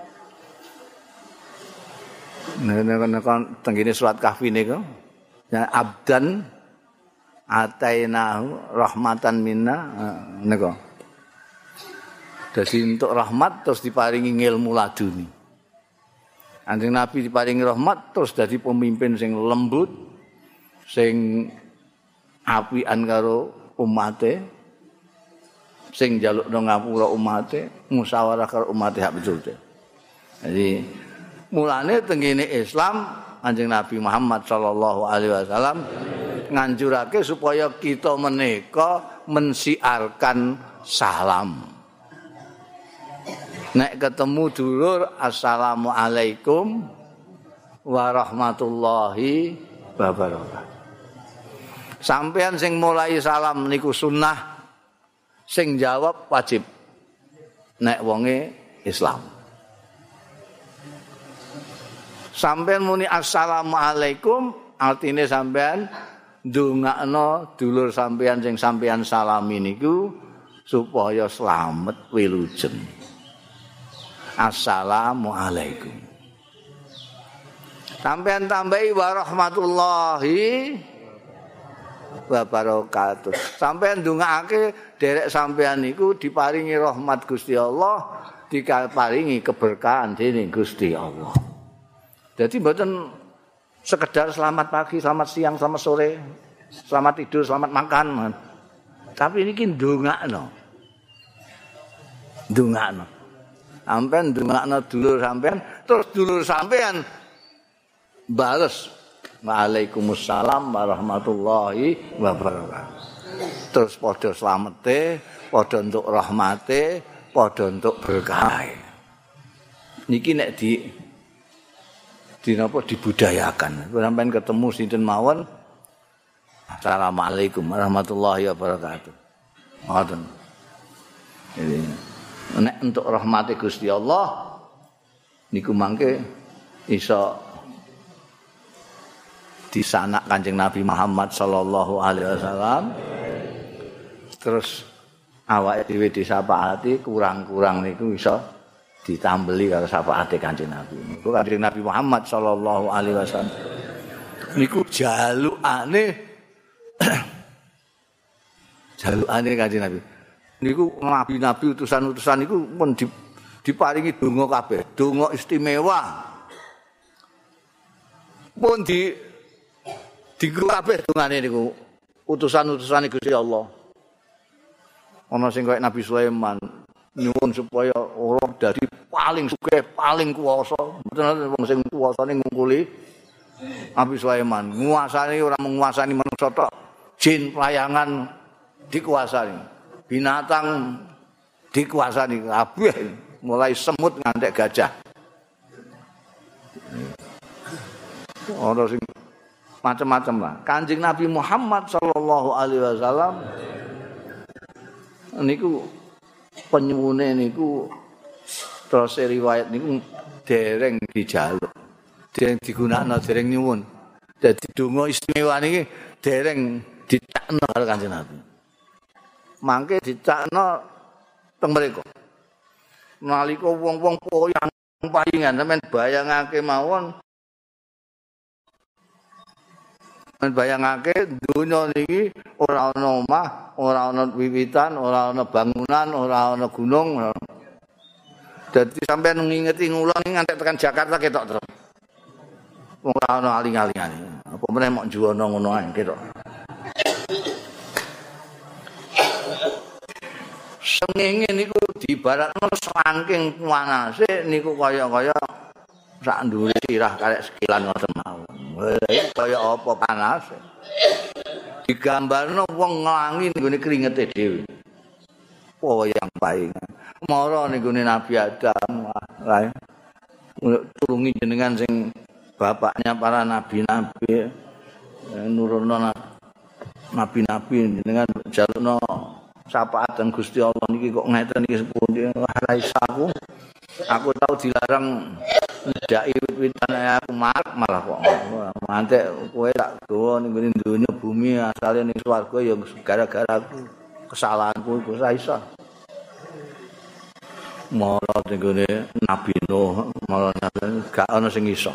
Nek tengene surat Kahfi niku ya abdan atainahu rahmatan minna niku. Dadi untuk rahmat terus diparingi ilmu laduni. Kanjeng Nabi diparingi rahmat terus dadi pemimpin sing lembut, sing apian karo umate, sing njalukno ngapura umate, musyawarah karo umate hak pitulute. Jadi mulane tengene Islam Kanjeng Nabi Muhammad sallallahu alaihi wasallam nganjurake supaya kita menika mensiarkan salam. Nek ketemu dulur assalamu alaikum warahmatullahi wabarakatuh. Sampean sing mulai salam niku sunnah, sing jawab wajib. Nek wonge Islam. Sampean muni assalamualaikum, artine sampean ndongakno dulur sampean sing sampean salami niku supaya slamet wilujen. Assalamualaikum. Sampean tambahi warahmatullahi wabarakatuh. Sampeyan ndongaake derek sampeyan niku diparingi rahmat Gusti Allah, diparingi keberkahan dening Gusti Allah. Jadi mboten sekedar selamat pagi, selamat siang, selamat sore, selamat tidur, selamat makan. Tapi niki ndongakno. Ndongakno. Sampeyan ndongakno dulur sampeyan, terus dulur sampeyan bales Waalaikumsalam warahmatullahi wabarakatuh. Terus padha slamete, padha untuk rahmate, padha untuk berkah. Niki nek di di napa dibudayakan. Sampeyan ketemu sinten mawon. Assalamualaikum warahmatullahi wabarakatuh. Ngoten. Jadi nek untuk rahmati Gusti Allah niku mangke iso di sanak Kanjeng Nabi Muhammad sallallahu alaihi wasallam. Terus awake dhewe disapaati kurang-kurang niku iso ditambeli karo syafaate Kanjeng Nabi. Niku Kanjeng Nabi Muhammad sallallahu alaihi wasallam niku jalukane jalukane Kanjeng Nabi. Niku nabi-nabi utusan-utusan niku pun diparingi donga kabeh, donga istimewa. Pun di dienggo kabeh dongane niku utusan-utusan Gusti Allah. Ana sing kaya Nabi Sulaiman nyuwun supaya ora dadi paling sugih, paling kuwasa. Mboten wong sing kuwasane ngungkuli Nabi Sulaiman, nguasani ora menguasani manusa tok, jin pelayangan dikuasani, binatang dikuasani kabeh, mulai semut ngantek gajah. Ana sing macam-macam lah. Kanjeng Nabi Muhammad sallallahu alaihi wasallam niku penyuwune niku terus riwayat niku dereng dijaluk. Dereng digunakno, dereng nyuwun. Dadi donga istimewa niki dereng dicakno karo Kanjeng Nabi. Mangke dicakno teng mriku. Nalika wong-wong poyang payingan sampean bayangake mawon men bayangake donya niki ora ana omah, ora ana wiwitan, ora ana bangunan, ora ana gunung. Dadi sampean ngingeti ngulon ngantek tekan Jakarta ketok terus. Wong ora ana aling-alingane. Apa meneh mok juwana ngono ae ketok. Sengenge niku diibaratno saking panase niku kaya-kaya sak ndure sirah karek sekilan ngoten mawon. Kaya apa panas. Digambarno wong nglangi nggone kringete dhewe. Wayang paingan. Mara ning gone Nabi Adam, wae. Tulungi jenengan sing bapaknya para nabi-nabi, nurunno nabi-nabi jenengan jalukno syafaat dan Gusti Allah niki kok ngeten iki sepundi ora isa aku. Aku tahu dilarang ndaki wit-witan aku marek malah kok. Mantek kowe tak gawa ning ngene donya bumi asale ning swarga ya gara-gara aku. Kesalahanku iku ora iso. Mara ning ngene Nabi Nuh, mara gak ana sing iso.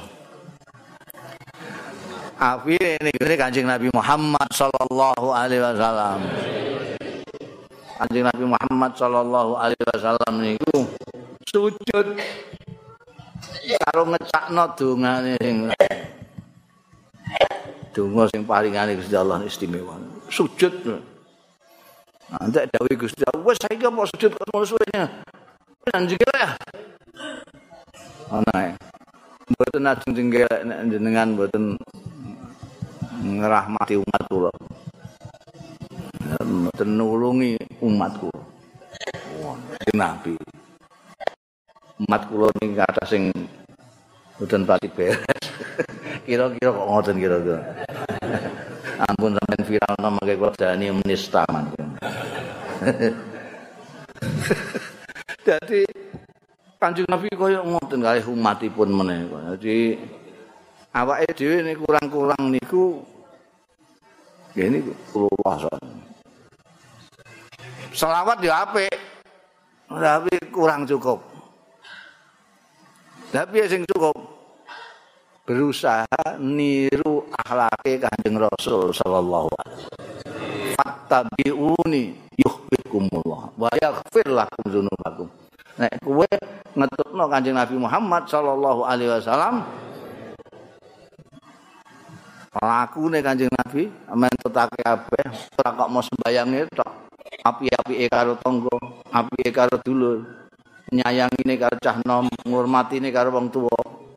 Akhire ning ngene Kanjeng Nabi Muhammad sallallahu alaihi wasallam. Kanjeng Nabi Muhammad sallallahu alaihi wasallam niku sujud karo ngecakno dongane sing donga sing paringane Gusti Allah istimewa. Sujud. Nanti dawuh Gusti Allah, wis saiki apa sujud kok suwene. Anjing ya. Ana. Mboten ajeng jenggelek nek jenengan mboten ngrahmati umat kula. Mboten nulungi umatku. Wah, Nabi. Umat kula niki kathah sing mboten pati beres. Kira-kira kok ngoten kira-kira. Ampun sampean viral mangke kula dani menista mangke. Dadi Kanjeng Nabi kaya ngoten kalih umatipun meneh. Dadi awake dhewe nek kurang-kurang niku nggih niku kula selawat ya apik. Tapi kurang cukup. Tapi sing cukup berusaha niru akhlake Kanjeng Rasul sallallahu alaihi wasallam. Fattabi'uni yuhibbukumullah wa yaghfir lakum dzunubakum. Nek kowe ngetutno Kanjeng Nabi Muhammad sallallahu alaihi wasallam lakune Kanjeng Nabi mentutake kabeh ora kok mau sembayange tok. Api-apike karo tangga, apike karo dulur, nyayangine karo cah nom, ngurmatine karo wong tuwa.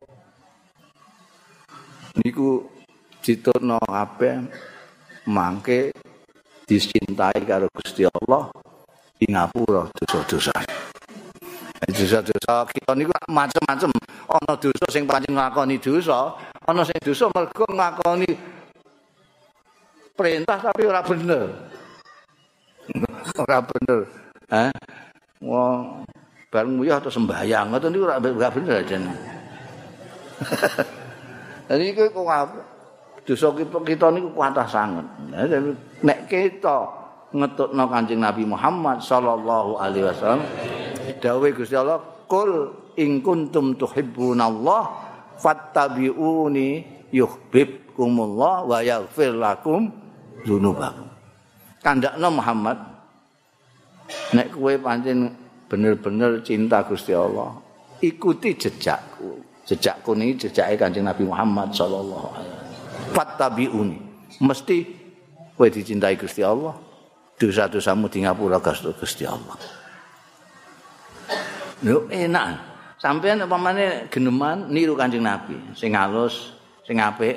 Niku ditutno kabeh mangke dicintai karo Gusti Allah di ngapura dosa-dosa. Dosa-dosa kita niku macam-macam. Ana dosa sing pancen nglakoni dosa, ana sing dosa mergo nglakoni perintah tapi ora bener. Ora bener. Hah? Wong bareng nguyah atau sembahyang ngoten niku ora bener ajane. Jadi iku kok dosa kita niku kuatah sanget. Nek kita ngetutno Kanjeng Nabi Muhammad sallallahu alaihi wasallam dawuh Gusti Allah qul in kuntum tuhibbunallah fattabi'uni yuhibbukumullah wa yaghfir lakum dzunubakum. Kandakno Muhammad nek kowe pancen bener-bener cinta Gusti Allah, ikuti jejakku. Jejakku niki jejake Kanjeng Nabi Muhammad sallallahu alaihi wasallam. Fattabi'uni. Mesti kowe dicintai Gusti Allah, dosa-dosamu di ngapura Gusti Allah. Lho enak. Sampeyan upamane geneman niru Kanjeng Nabi, sing halus, sing apik.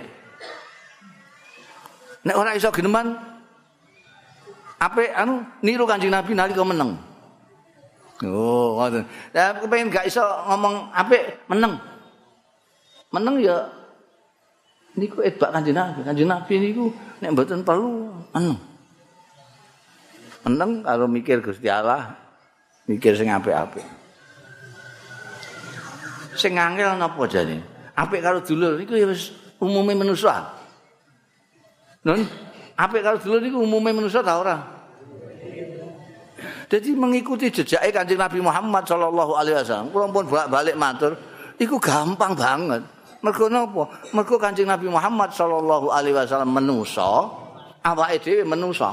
Nek ora iso geneman apik anu niru Kanjeng Nabi nalika meneng. Oh, ngoten. Lah kepengin gak iso ngomong apik meneng. Meneng ya niku edbak Kanjeng Nabi. Kanjeng Nabi niku nek mboten perlu meneng. Meneng karo mikir Gusti Allah, mikir sing apik-apik. Sing angel napa jane? Apik karo dulur niku ya wis umume manusa. Nun, apik karo dulur niku umume manusa ta ora? Jadi mengikuti jejake Kanjeng Nabi Muhammad sallallahu alaihi wasallam. Kula pun bolak-balik matur, iku gampang banget. Mergo napa? Mergo Kanjeng Nabi Muhammad sallallahu alaihi wasallam manusa, awake dhewe manusa.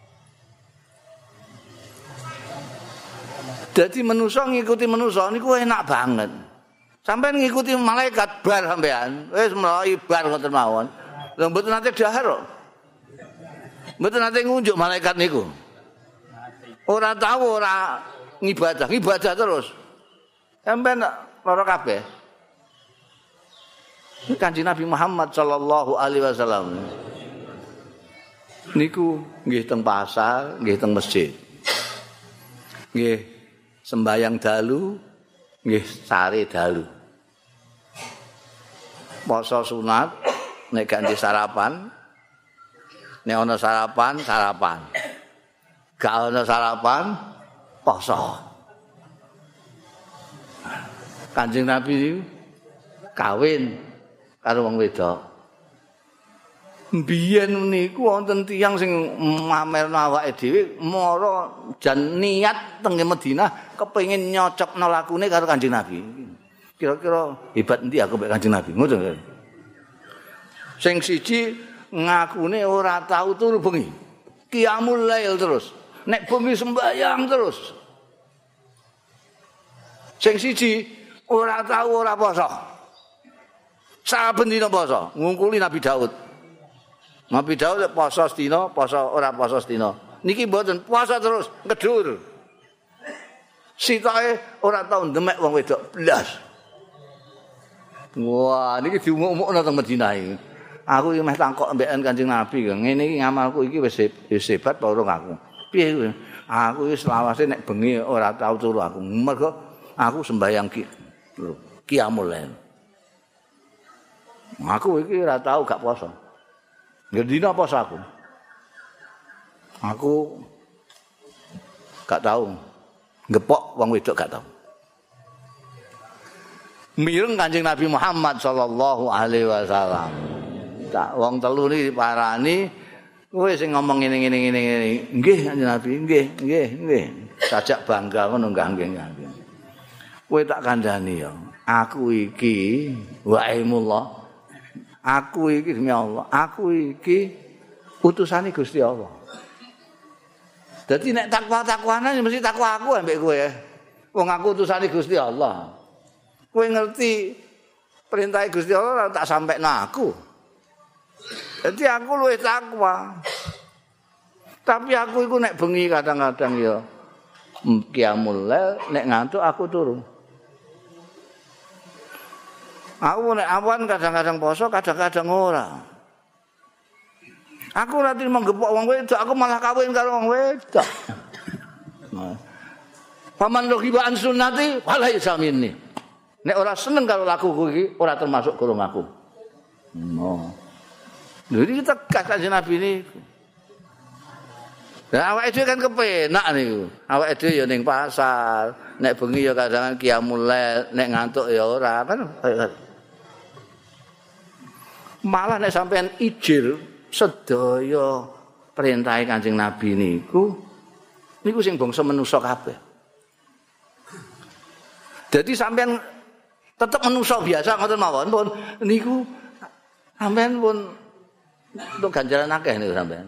Dadi manusa ngikuti manusa niku enak banget. Sampeyan ngikuti malaikat bar sampean, wis mlayu bar ngoten mawon. Lha mboten nate dahar kok. Mboten nate ngunjuk malaikat niku. Ora tahu ora ngibadah, ngibadah terus. Sampeyan lara kabeh. Kanjeng Nabi Muhammad sallallahu alaihi wasallam niku nggih teng pasar, nggih teng masjid. Nggih sembayang dalu, nggih sare dalu. Poso sunat nek ganti sarapan, nek ana sarapan, sarapan. Gak ana sarapan, poso. Kanjeng Nabi kawin karo wong wedok. Mbiyen niku wonten tiyang sing mamerno awake dhewe mara jan niat teng Madinah kepengin nyocokno lakune karo Kanjeng Nabi. Kira-kira hebat endi aku mek Kanjeng Nabi. Ngoten. Sing siji ngakune ora tau turu bengi. Qiyamul lail terus. Nek bengi sembahyang terus. Sing siji ora tau ora poso. Saben dina poso, ngungkuli Nabi Daud. Nabi Daud poso sedina, poso ora poso sedina. Niki mboten puasa terus, ngedur. Sitoke ora tau ndemek wong wedok blas. Wah, niki diumuk-umukno teng Madinah iki. Aku iki meh takok mbekan Kanjeng Nabi, ngene iki ngamalku iki wis wis hebat apa urung aku. Piye kuwi? Aku iki selawase nek bengi ora tau turu aku. Mergo aku sembahyang ki qiyamul lail. Aku iki ora tau gak poso. Ngendina poso aku. Aku gak tau ngepok wong wedok gak tau. Mireng Kanjeng Nabi Muhammad sallallahu alaihi wasallam. Tak wong telu niki diparani, kowe sing ngomong ngene ngene ngene ngene. Nggih Kanjeng Nabi, nggih, nggih, nggih. Sajak bangga ngono nggih nggih. Kowe tak kandhani ya. Aku iki wa'imullah. Aku iki demi Allah, aku iki utusane Gusti Allah. Dadi nek takwa-takwanan mesti takwa aku ambek kowe. Wong aku utusane Gusti Allah. Kowe ngerti perintah Gusti Allah tak sampekno aku. Dadi aku luwih takwa. Tapi aku iku nek bengi kadang-kadang ya qiyamul lail, nek ngantuk aku turu. Aku nek awan kadang-kadang poso, kadang-kadang ora. Aku ora trimo gepok wong wedok, aku malah kawin karo wong wedok. Paman rohibaan sunnati wala yasamini. Nek ora seneng karo lakuku iki, ora termasuk golong aku. No. Jadi tegas Kanjeng Nabi niku. Lah awake dhewe kan kepenak niku. Awake dhewe ya ning pasar, nek bengi ya kadang qiyamul lail, nek ngantuk ya ora kan. Malah nek sampean ijil sedaya perintahe Kanjeng Nabi niku niku sing bangsa manusa kabeh. Dadi sampean tetep manusa biasa ngoten mawon pun niku sampean pun untuk ganjaran akeh niku sampean.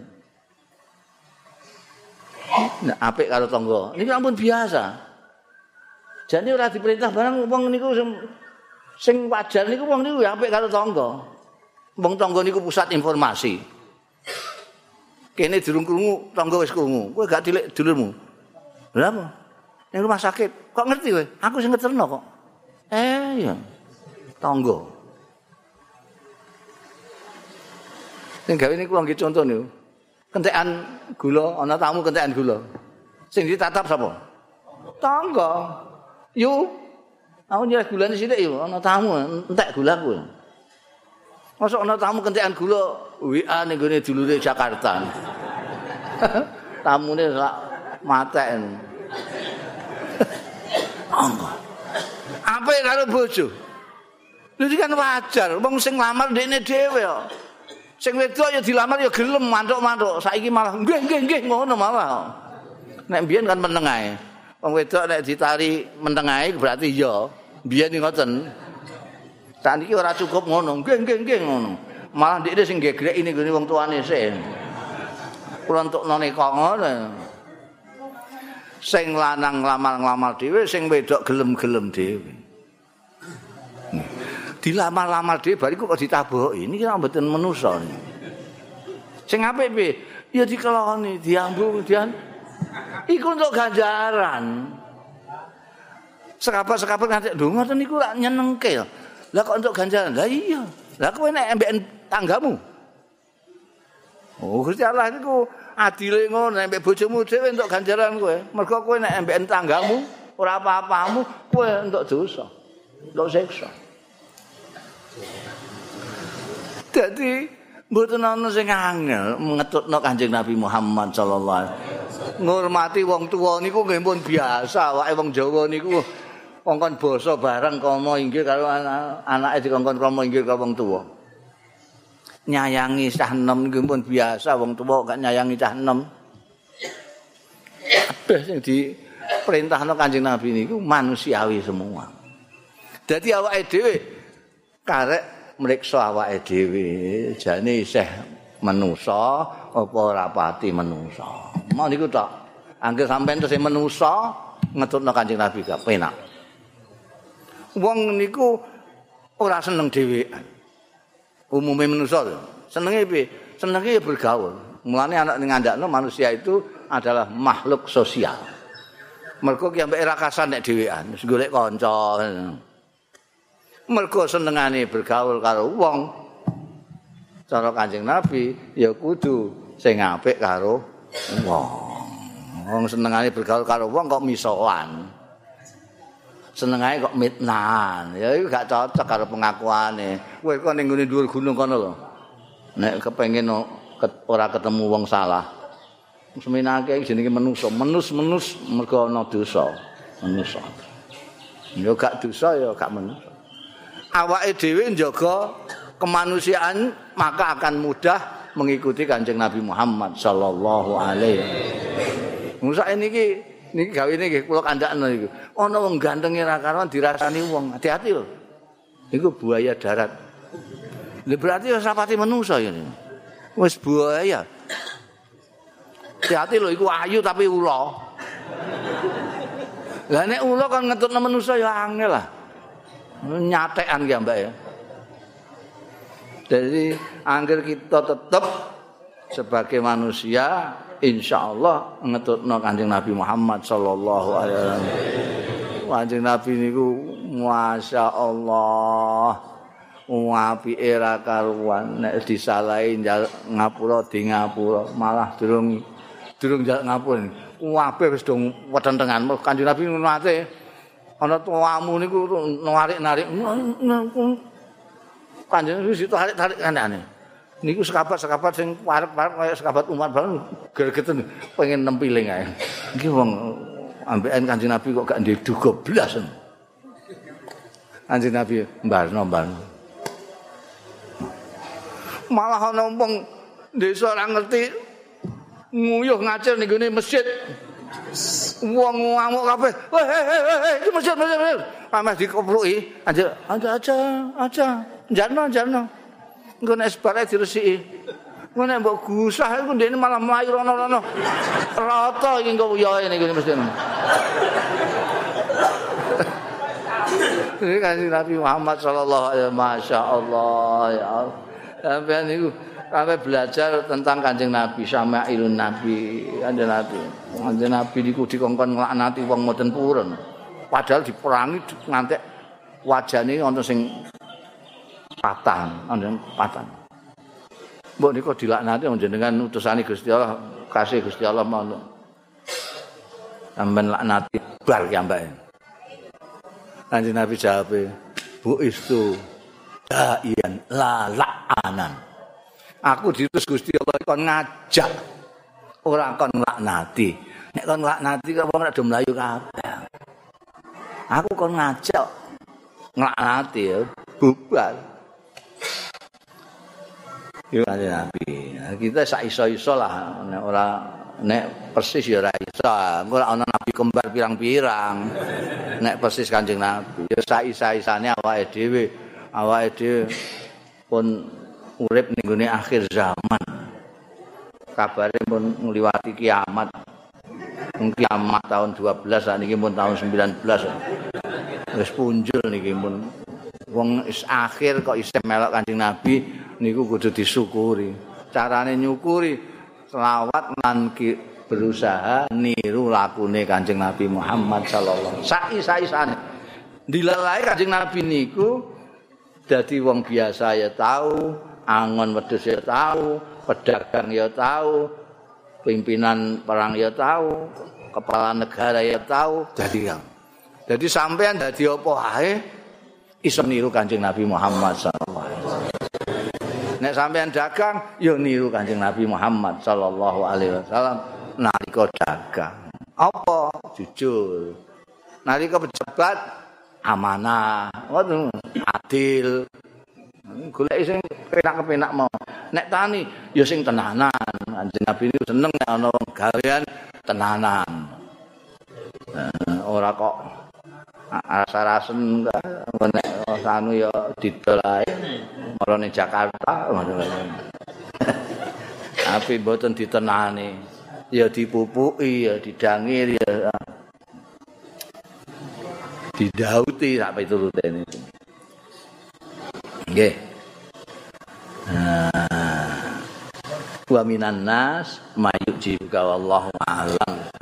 Nah, apik karo tangga. Niku ampun biasa. Jane ora diperintah barang wong niku sing sing wajar niku wong niku apik karo tangga. Wong tangga niku pusat informasi. Kene durung krungu, tangga wis krungu. Kowe gak tilik dulurmu. Lha apa? Ning rumah sakit. Kok ngerti kowe? Aku sing ngeterno kok. Eh ya. Tangga. Sing gawe niku nggih conto niku. Kentekan gula, ana tamu kentekan gula. Sing ditatap sapa? Tangga. Yu. Aku nyerah gulane sithik yo, ana tamu entek gulaku. Mosok ana tamu kentekan gula W A ning gone dulure Jakarta. Tamune sak matek. Anggo. Apik karo bojo. Lha iki kan wajar, wong sing lamar ndekne dhewe kok. Sing wedok ya dilamar ya gelem mantuk-mantuk. Saiki malah nggih nggih nggih ngono malah. Nek mbiyen kan meneng ae. Wong wedok nek ditari meneng ae berarti ya. Mbiyen ngoten. Saniki ora cukup ngono. Nggih nggih nggih ngono. Malah ndekne sing gegreki ning gone wong tuane sik. Kula entukno neka ngono. Sing lanang nglamar-nglamar dhewe, sing wedok gelem-gelem dhewe. Dilamar-lamar dhewe bariku kok ditaboki. Niki ora mboten manusa. Sing apik piye? Ya dikeloni, diambu, dian. Iku untuk ganjaran. Sekapat-sekapat nganti lho ngoten niku lak nyenengke. Lah kok untuk ganjaran? Lah iya. Lah kowe nek mbek tanggamu. Oh, Gusti Allah niku adile ngono nek mbek bojomu dhewe untuk ganjaran kowe. Mergo kowe nek mbek tanggamu ora apa-apamu, kowe untuk dosa. Untuk siksa. Dadi mboten ana sing angel ngetutno Kanjeng Nabi Muhammad sallallahu alaihi wasallam. Ngurmati wong tuwa niku nggih pun biasa, wae wong Jawa niku kongkon basa bareng kama inggih karo anake dikongkon krama inggih karo wong tuwa. Nyayangi cah enom niku pun biasa, wong tuwa gak nyayangi cah enom. Kabeh sing diperintahno Kanjeng Nabi niku manusiawi semua. Dadi awake dhewe karek mriksa awake dhewe jane isih manusa apa ora pati manusa. Mau niku tok. Angger sampean tesih manusa ngetutno Kanjeng Nabi gak penak. Wong niku ora seneng dhewean. Umume manusa lho. Senenge piye? Senenge ya bergaul. Mulane anak ning ngandakno manusia itu adalah makhluk sosial. Mergo ki ambek ra kasan nek dhewean, wis golek kanca. Mergo senengane bergaul karo wong. Cara Kanjeng Nabi ya kudu sing apik karo wong. Wong senengane bergaul karo wong kok misoan. Senengane kok mitnahan. Ya iku gak cocok karo pengakuane. Kowe kok ning ngene dhuwur gunung kono lho. Nek kepengin ora ketemu wong salah. Seminake jenenge manusa, menus-menus mergo ana dosa. Manusa. Ya gak dosa ya gak manusa. Awake dhewe njaga kemanusiaan maka akan mudah mengikuti Kanjeng Nabi Muhammad sallallahu alaihi wasallam. Musa niki niki gawene nggih kula kandhakno niku. Ana wong gantenge ra karuan dirasani wong. Hati-hati lho. Niku buaya darat. Lha berarti wis rapati manusa ya. Wis buaya. Hati-hati lho iku ayu tapi ula. Lah nek ula kan ngetutno manusa ya angel lah. Nyatekan ya Mbak ya. Jadi angger kita tetap sebagai manusia insyaallah ngetutno Kanjeng Nabi Muhammad sallallahu alaihi wasallam. Kanjeng Nabi niku masyaallah apike ra karuan nek disalahi ngapura di ngapura malah durung durung ngapura. Kabeh wis do wetentengan Kanjeng Nabi nate ana tuamu niku narik-narik Kanjeng wis tarik-tarik kanane. Niku sekabat-sekabat sing parep-parep kaya sekabat Umar bareng gregeten pengen nempiling ae. Iki wong ambekan Kanjeng Nabi kok gak ndek duga blas. Kanjeng Nabi mbarno-mbarno. Malah ana wong desa ora ngerti nguyuh ngacir ning gone masjid. Wong ngamuk kabeh. Hei hei hei iki masjid masjid masjid. Ameh dikopluki, anjir aja aja aja. Jarno jarno. Engko nek sebare diresiki. Engko nek mbok gusah iku ndekne malah mlayu rono-rono. Rata iki engko uyohe ning gone masjid. Ini kasih Nabi Muhammad sallallahu alaihi wasallam, masya Allah ya Allah. Sampai niku sampai belajar tentang Kanjeng Nabi, Syama'ilun Nabi, Kanjeng Nabi. Kanjeng Nabi niku dikongkon nglaknati wong mboten purun. Padahal diperangi ngantek wajane ana sing patah, ana patah. Mbok niku dilaknati njenengan utusane Gusti Allah, kasih Gusti Allah mono. Sampeyan laknati bar ki ambake. Kanjeng Nabi jawab, "Bu istu da'ian la la'anan." Aku diutus Gusti Allah kon ngajak, ora kon nglaknati. Nek kon nglaknati kok wong rada mlayu kabeh. Aku kon ngajak nglaknati ya, bubar. Yo Kanjeng Nabi. Kita sak iso-iso lah nek ora nek persis ya ora iso. Engko ora ana nabi kembar pirang-pirang. Nek persis Kanjeng Nabi ya sak-isane awake dhewe. Awake dhewe pun urip ning gone akhir zaman. Kabare pun ngliwati kiamat. Kiamat tahun dua belas sakniki pun tahun sembilan belas. Wis punjul niki pun. Wong is akhir kok isih melok Kanjeng Nabi niku kudu disyukuri. Carane nyukuri selawat lan berusaha niru lakune Kanjeng Nabi Muhammad sallallahu alaihi wasallam. Sai-saisane. Dilalae Kanjeng Nabi niku dadi wong biasa ya tahu, angon wedhus ya tahu, pedagang ya tahu, pimpinan perang ya tahu, kepala negara ya tahu, jadi jadi sampean dadi apa ae iso niru Kanjeng Nabi Muhammad sallallahu alaihi wasallam. Nek sampean dagang ya niru Kanjeng Nabi Muhammad sallallahu alaihi wasallam nalika dagang. Apa? Jujur. Nalika pejabat amanah, ngono, adil. Golek sing penak-kepenak mau. Nek tani ya sing tenanan. Kanjeng Nabi niku seneng nek ana wong gawean tenanan. Nah, ora kok rasa-rasen nek anu ya didol ae. Marane Jakarta ngono. Tapi mboten ditenani. Ya dipupuki, ya didangir, ya didauti sak piturute niku. Nggih. Nah. Wa minan nas mayujibuka wallahu a'lam.